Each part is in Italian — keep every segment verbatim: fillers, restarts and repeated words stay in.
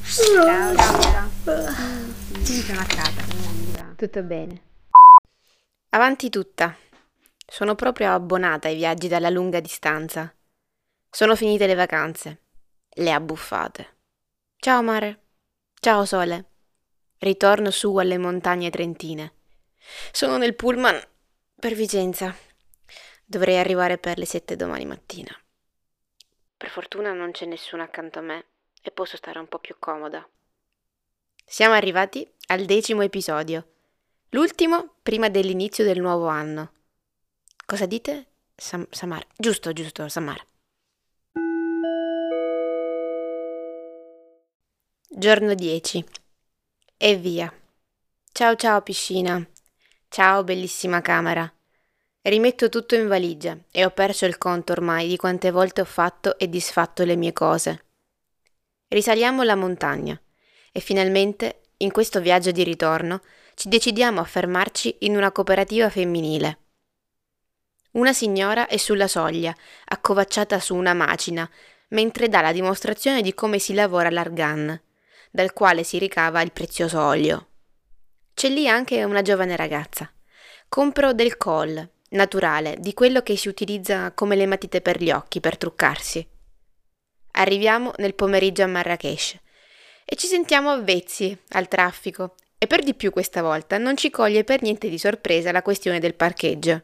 Ciao, Laura. Sì, sono a casa. Viva. Tutto bene. Avanti tutta. Sono proprio abbonata ai viaggi dalla lunga distanza. Sono finite le vacanze. Le abbuffate. Ciao mare. Ciao sole. Ritorno su alle montagne trentine. Sono nel pullman per Vicenza. Dovrei arrivare per le sette domani mattina. Per fortuna non c'è nessuno accanto a me e posso stare un po' più comoda. Siamo arrivati al decimo episodio. L'ultimo prima dell'inizio del nuovo anno. Cosa dite? Sam- Samar. Giusto, giusto, Samar. Giorno dieci. E via. Ciao ciao piscina. Ciao bellissima camera. Rimetto tutto in valigia e ho perso il conto ormai di quante volte ho fatto e disfatto le mie cose. Risaliamo la montagna e finalmente, in questo viaggio di ritorno, ci decidiamo a fermarci in una cooperativa femminile. Una signora è sulla soglia, accovacciata su una macina, mentre dà la dimostrazione di come si lavora l'argan, dal quale si ricava il prezioso olio. C'è lì anche una giovane ragazza. Compro del kohl, naturale, di quello che si utilizza come le matite per gli occhi, per truccarsi. Arriviamo nel pomeriggio a Marrakech e ci sentiamo avvezzi al traffico e per di più questa volta non ci coglie per niente di sorpresa la questione del parcheggio.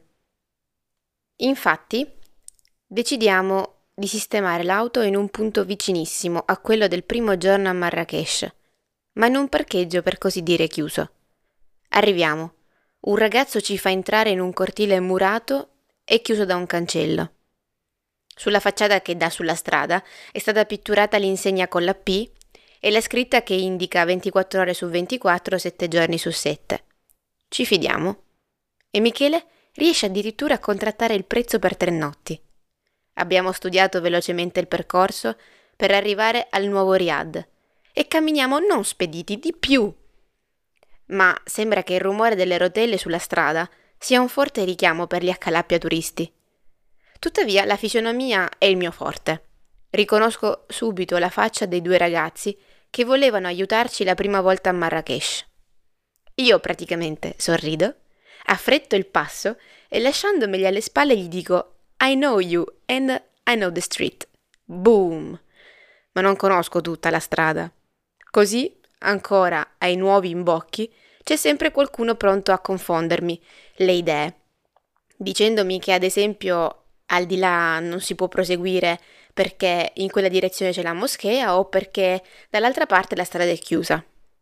Infatti, decidiamo di sistemare l'auto in un punto vicinissimo a quello del primo giorno a Marrakech, ma in un parcheggio per così dire chiuso. Arriviamo. Un ragazzo ci fa entrare in un cortile murato e chiuso da un cancello. Sulla facciata che dà sulla strada è stata pitturata l'insegna con la P e la scritta che indica ventiquattro ore su ventiquattro, sette giorni su sette. Ci fidiamo. E Michele riesce addirittura a contrattare il prezzo per tre notti. Abbiamo studiato velocemente il percorso per arrivare al nuovo Riad e camminiamo non spediti, di più. Ma sembra che il rumore delle rotelle sulla strada sia un forte richiamo per gli accalappi a turisti. Tuttavia la fisionomia è il mio forte. Riconosco subito la faccia dei due ragazzi che volevano aiutarci la prima volta a Marrakech. Io praticamente sorrido, affretto il passo e lasciandomeli alle spalle gli dico I know you and I know the street. Boom! Ma non conosco tutta la strada. Così, ancora ai nuovi imbocchi, c'è sempre qualcuno pronto a confondermi le idee, dicendomi che ad esempio al di là non si può proseguire perché in quella direzione c'è la moschea o perché dall'altra parte la strada è chiusa.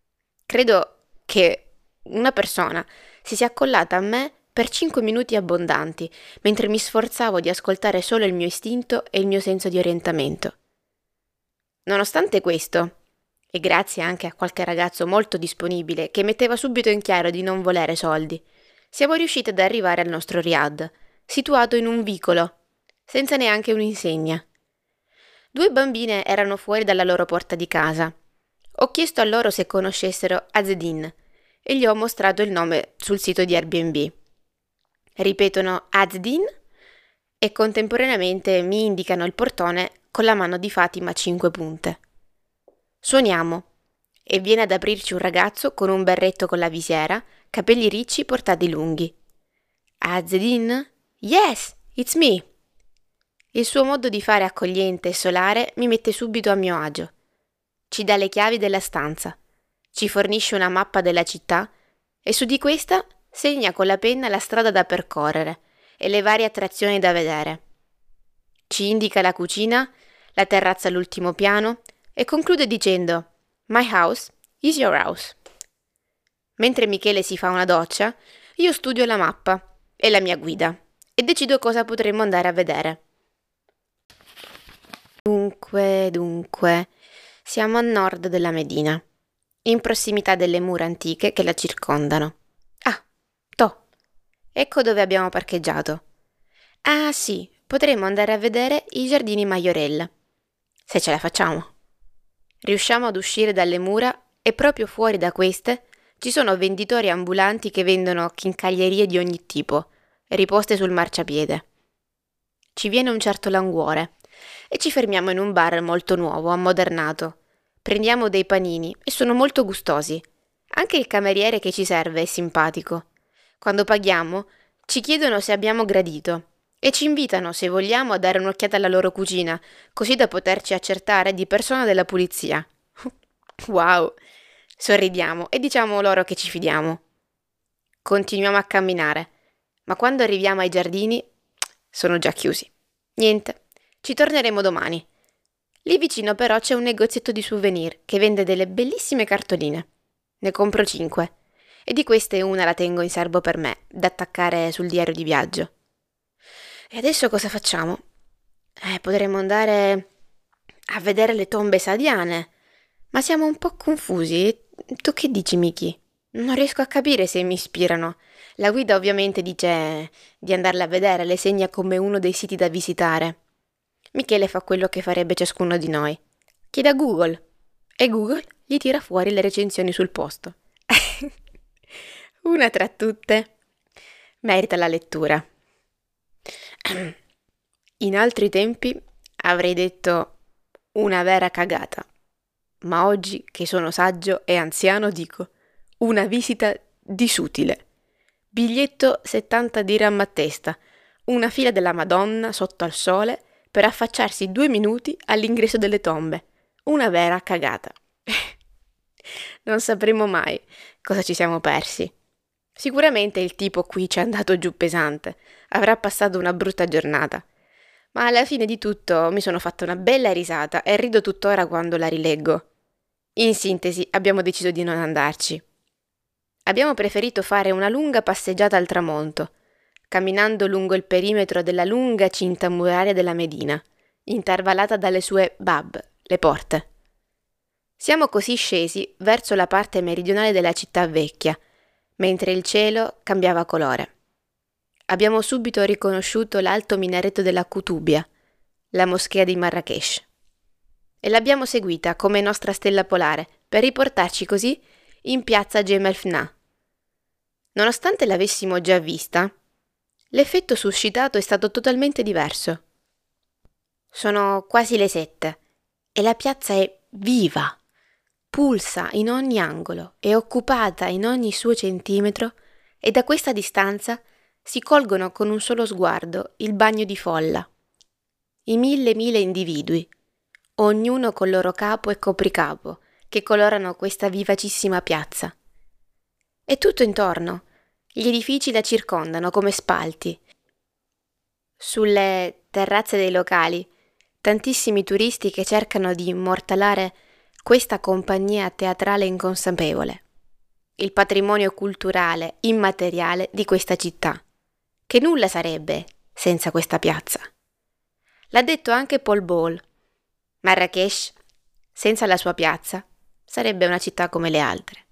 Credo che una persona si sia accollata a me per cinque minuti abbondanti, mentre mi sforzavo di ascoltare solo il mio istinto e il mio senso di orientamento. Nonostante questo, e grazie anche a qualche ragazzo molto disponibile che metteva subito in chiaro di non volere soldi, siamo riusciti ad arrivare al nostro Riad, situato in un vicolo, senza neanche un'insegna. Due bambine erano fuori dalla loro porta di casa. Ho chiesto a loro se conoscessero Azedin e gli ho mostrato il nome sul sito di Airbnb. Ripetono Azedin e contemporaneamente mi indicano il portone con la mano di Fatima a cinque punte. Suoniamo e viene ad aprirci un ragazzo con un berretto con la visiera, capelli ricci portati lunghi. Azedin? Yes, it's me. Il suo modo di fare accogliente e solare mi mette subito a mio agio. Ci dà le chiavi della stanza, ci fornisce una mappa della città e su di questa segna con la penna la strada da percorrere e le varie attrazioni da vedere. Ci indica la cucina, la terrazza all'ultimo piano e conclude dicendo My house is your house. Mentre Michele si fa una doccia, io studio la mappa e la mia guida e decido cosa potremmo andare a vedere. Dunque, dunque, siamo a nord della Medina, in prossimità delle mura antiche che la circondano. Ah, toh, ecco dove abbiamo parcheggiato. Ah sì, potremmo andare a vedere i giardini Majorelle, se ce la facciamo. Riusciamo ad uscire dalle mura e proprio fuori da queste ci sono venditori ambulanti che vendono chincaglierie di ogni tipo, riposte sul marciapiede. Ci viene un certo languore e ci fermiamo in un bar molto nuovo, ammodernato, Prendiamo dei panini e sono molto gustosi. Anche il cameriere che ci serve è simpatico. Quando paghiamo, ci chiedono se abbiamo gradito e ci invitano, se vogliamo, a dare un'occhiata alla loro cucina, così da poterci accertare di persona della pulizia. Wow! Sorridiamo e diciamo loro che ci fidiamo. Continuiamo a camminare, ma quando arriviamo ai giardini sono già chiusi. Niente, ci torneremo domani. Lì vicino però c'è un negozietto di souvenir che vende delle bellissime cartoline. Ne compro cinque e di queste una la tengo in serbo per me, da attaccare sul diario di viaggio. E adesso cosa facciamo? Eh, potremmo andare a vedere le tombe sadiane, ma siamo un po' confusi. Tu che dici, Miki? Non riesco a capire se mi ispirano. La guida ovviamente dice di andarla a vedere, le segna come uno dei siti da visitare. Michele fa quello che farebbe ciascuno di noi. Chiede a Google e Google gli tira fuori le recensioni sul posto. Una tra tutte merita la lettura. In altri tempi avrei detto una vera cagata, ma oggi che sono saggio e anziano dico una visita disutile. Biglietto settanta dirham a testa, una fila della Madonna sotto al sole per affacciarsi due minuti all'ingresso delle tombe. Una vera cagata. Non sapremo mai cosa ci siamo persi. Sicuramente il tipo qui ci è andato giù pesante, avrà passato una brutta giornata. Ma alla fine di tutto mi sono fatta una bella risata e rido tuttora quando la rileggo. In sintesi, abbiamo deciso di non andarci. Abbiamo preferito fare una lunga passeggiata al tramonto, camminando lungo il perimetro della lunga cinta muraria della Medina, intervallata dalle sue bab, le porte. Siamo così scesi verso la parte meridionale della città vecchia, mentre il cielo cambiava colore. Abbiamo subito riconosciuto l'alto minareto della Kutubia, la moschea di Marrakesh, e l'abbiamo seguita come nostra stella polare per riportarci così in piazza Gemal Fna. Nonostante l'avessimo già vista, l'effetto suscitato è stato totalmente diverso. Sono quasi le sette e la piazza è viva, pulsa in ogni angolo, è occupata in ogni suo centimetro e da questa distanza si colgono con un solo sguardo il bagno di folla. I mille mille individui, ognuno col loro capo e copricapo, che colorano questa vivacissima piazza. E tutto intorno, gli edifici la circondano come spalti. Sulle terrazze dei locali, tantissimi turisti che cercano di immortalare questa compagnia teatrale inconsapevole, il patrimonio culturale immateriale di questa città, che nulla sarebbe senza questa piazza. L'ha detto anche Paul Ball. Marrakesh, senza la sua piazza, sarebbe una città come le altre.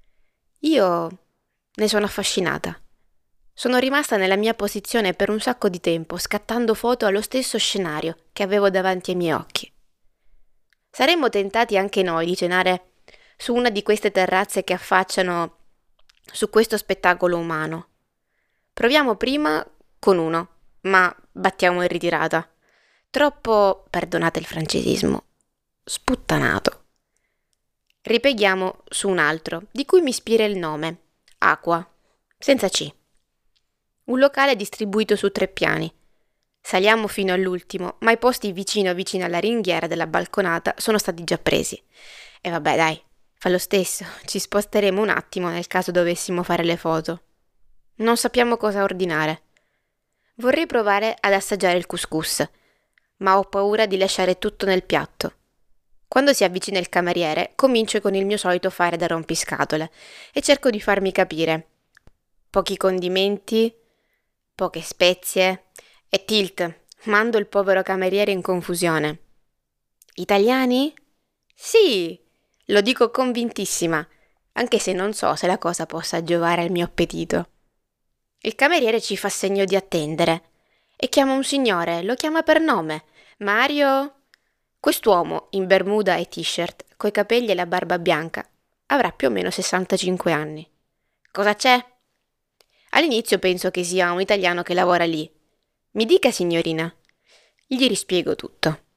Io ne sono affascinata. Sono rimasta nella mia posizione per un sacco di tempo, scattando foto allo stesso scenario che avevo davanti ai miei occhi. Saremmo tentati anche noi di cenare su una di queste terrazze che affacciano su questo spettacolo umano. Proviamo prima con uno, ma battiamo in ritirata. Troppo, perdonate il francesismo, sputtanato. Ripeghiamo su un altro, di cui mi ispira il nome, Aqua, senza C. Un locale distribuito su tre piani. Saliamo fino all'ultimo, ma i posti vicino vicino alla ringhiera della balconata sono stati già presi. E vabbè, dai, fa lo stesso, ci sposteremo un attimo nel caso dovessimo fare le foto. Non sappiamo cosa ordinare. Vorrei provare ad assaggiare il couscous, ma ho paura di lasciare tutto nel piatto. Quando si avvicina il cameriere, comincio con il mio solito fare da rompiscatole e cerco di farmi capire. Pochi condimenti, poche spezie e tilt, mando il povero cameriere in confusione. Italiani? Sì, lo dico convintissima, anche se non so se la cosa possa giovare al mio appetito. Il cameriere ci fa segno di attendere e chiama un signore, lo chiama per nome. Mario? Quest'uomo, in bermuda e t-shirt, coi capelli e la barba bianca, avrà più o meno sessantacinque anni. Cosa c'è? All'inizio penso che sia un italiano che lavora lì. Mi dica, signorina. Gli rispiego tutto.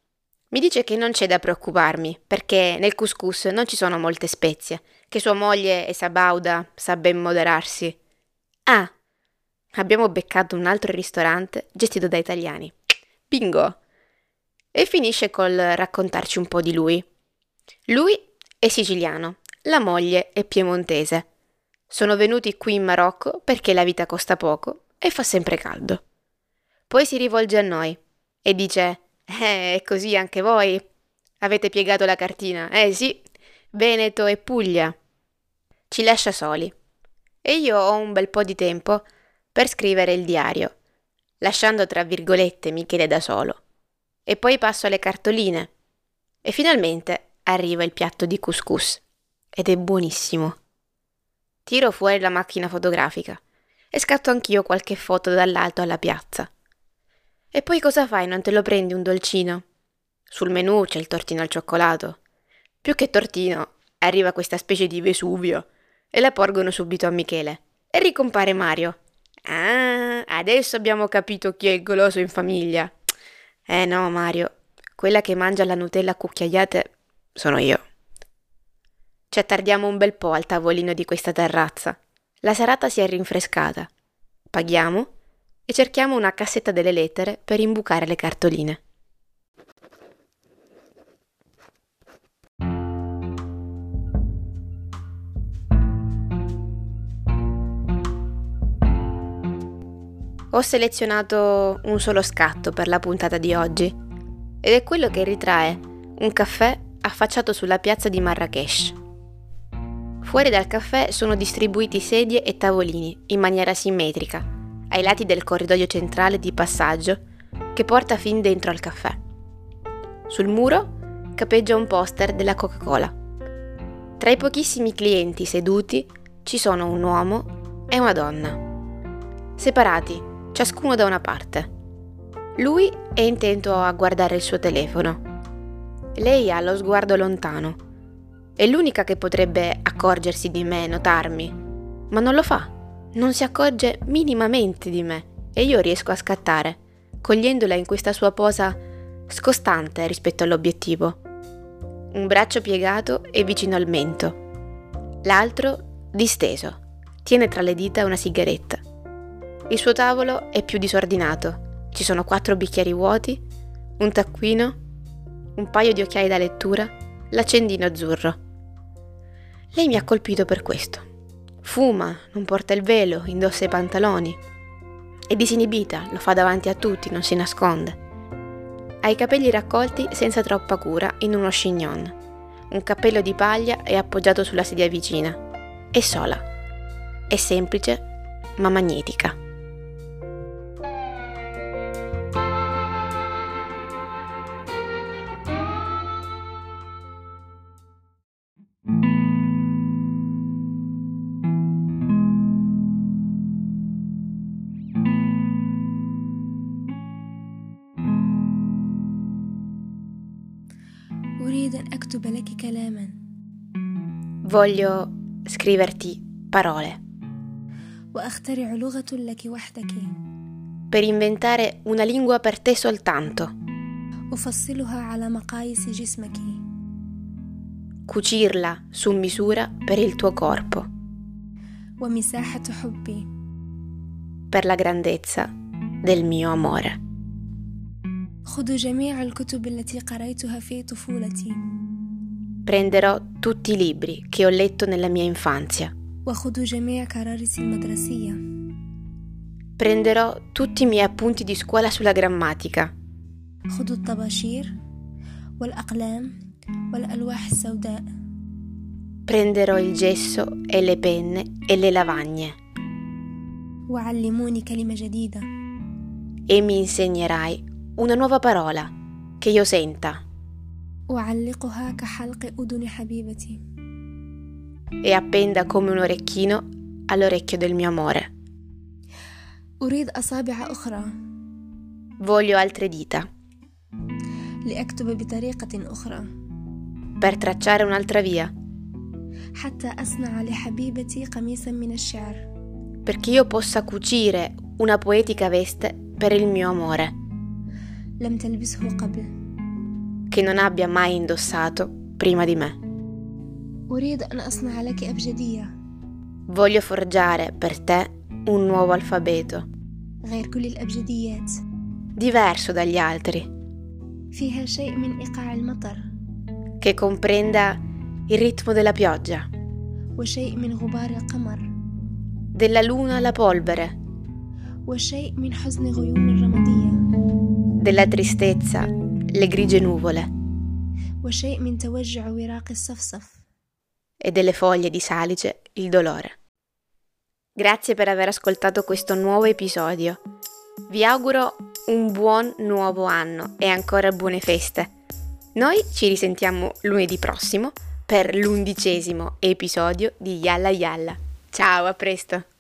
Mi dice che non c'è da preoccuparmi, perché nel couscous non ci sono molte spezie, che sua moglie è sabauda, sa ben moderarsi. Ah, abbiamo beccato un altro ristorante gestito da italiani. Bingo! E finisce col raccontarci un po' di lui. Lui è siciliano, la moglie è piemontese. Sono venuti qui in Marocco perché la vita costa poco e fa sempre caldo. Poi si rivolge a noi e dice: Eh, è così anche voi? Avete piegato la cartina? Eh sì, Veneto e Puglia. Ci lascia soli. E io ho un bel po' di tempo per scrivere il diario, lasciando tra virgolette Michele da solo. E poi passo alle cartoline. E finalmente arriva il piatto di couscous. Ed è buonissimo. Tiro fuori la macchina fotografica e scatto anch'io qualche foto dall'alto alla piazza. E poi cosa fai? Non te lo prendi un dolcino? Sul menù c'è il tortino al cioccolato. Più che tortino, arriva questa specie di Vesuvio e la porgono subito a Michele. E ricompare Mario. Ah, adesso abbiamo capito chi è il goloso in famiglia. Eh no, Mario, quella che mangia la Nutella a cucchiaiate sono io. Ci attardiamo un bel po' al tavolino di questa terrazza. La serata si è rinfrescata. Paghiamo e cerchiamo una cassetta delle lettere per imbucare le cartoline. Ho selezionato un solo scatto per la puntata di oggi ed è quello che ritrae un caffè affacciato sulla piazza di Marrakech. Fuori dal caffè sono distribuiti sedie e tavolini in maniera simmetrica ai lati del corridoio centrale di passaggio che porta fin dentro al caffè. Sul muro cappeggia un poster della Coca-Cola. Tra i pochissimi clienti seduti ci sono un uomo e una donna, separati ciascuno da una parte. Lui è intento a guardare il suo telefono. Lei ha lo sguardo lontano. È l'unica che potrebbe accorgersi di me, notarmi, ma non lo fa. Non si accorge minimamente di me e io riesco a scattare, cogliendola in questa sua posa scostante rispetto all'obiettivo. Un braccio piegato e vicino al mento, l'altro disteso, tiene tra le dita una sigaretta. Il suo tavolo è più disordinato, ci sono quattro bicchieri vuoti, un taccuino, un paio di occhiali da lettura, l'accendino azzurro. Lei mi ha colpito per questo. Fuma, non porta il velo, indossa i pantaloni. È disinibita, lo fa davanti a tutti, non si nasconde. Ha i capelli raccolti senza troppa cura in uno chignon. Un cappello di paglia è appoggiato sulla sedia vicina. È sola. È semplice, ma magnetica. أريد أن أكتب لك كلاما. Voglio scriverti parole. وأخترع لغة لك وحدك. Per inventare una lingua per te soltanto. أفصلها على مقاييس جسمك. Cucirla su misura per il tuo corpo. ومساحة حبي. Per la grandezza del mio amore. خذ جميع الكتب التي قرأتها في طفولتي. Prenderò tutti i libri che ho letto nella mia infanzia. وخذ جميع كرارس المدرسية. Prenderò tutti i miei appunti di scuola sulla grammatica. خذ الطباشير والأقلام والألواح السوداء. Prenderò il gesso e le penne e le lavagne. وعلموني كلمة جديدة. E mi insegnerai una nuova parola che io senta. أعلقها كحلق أذن حبيبتي. E appenda come un orecchino all'orecchio del mio amore. أريد أصابع أخرى. Voglio altre dita. لأكتب بطريقة أخرى. Per tracciare un'altra via. حتى أصنع لحبيبتي قميصا من الشعر. Perché io possa cucire una poetica veste per il mio amore. لم تلبسه قبل. che non abbia mai indossato prima di me. أريد أن أصنع لك أبجدية Voglio forgiare per te un nuovo alfabeto, غير كل الأبجديات، diverso dagli altri, فيها شيء من إيقاع المطر che comprenda il ritmo della pioggia, وشيء من غبار القمر della luna alla polvere, وشيء من حزن غيوم الرمادية della tristezza, le grigie nuvole وشيء من توجع وراق الصفصف. e delle foglie di salice il dolore. Grazie per aver ascoltato questo nuovo episodio. Vi auguro un buon nuovo anno e ancora buone feste. Noi ci risentiamo lunedì prossimo per l'undicesimo episodio di Yalla Yalla. Ciao, a presto!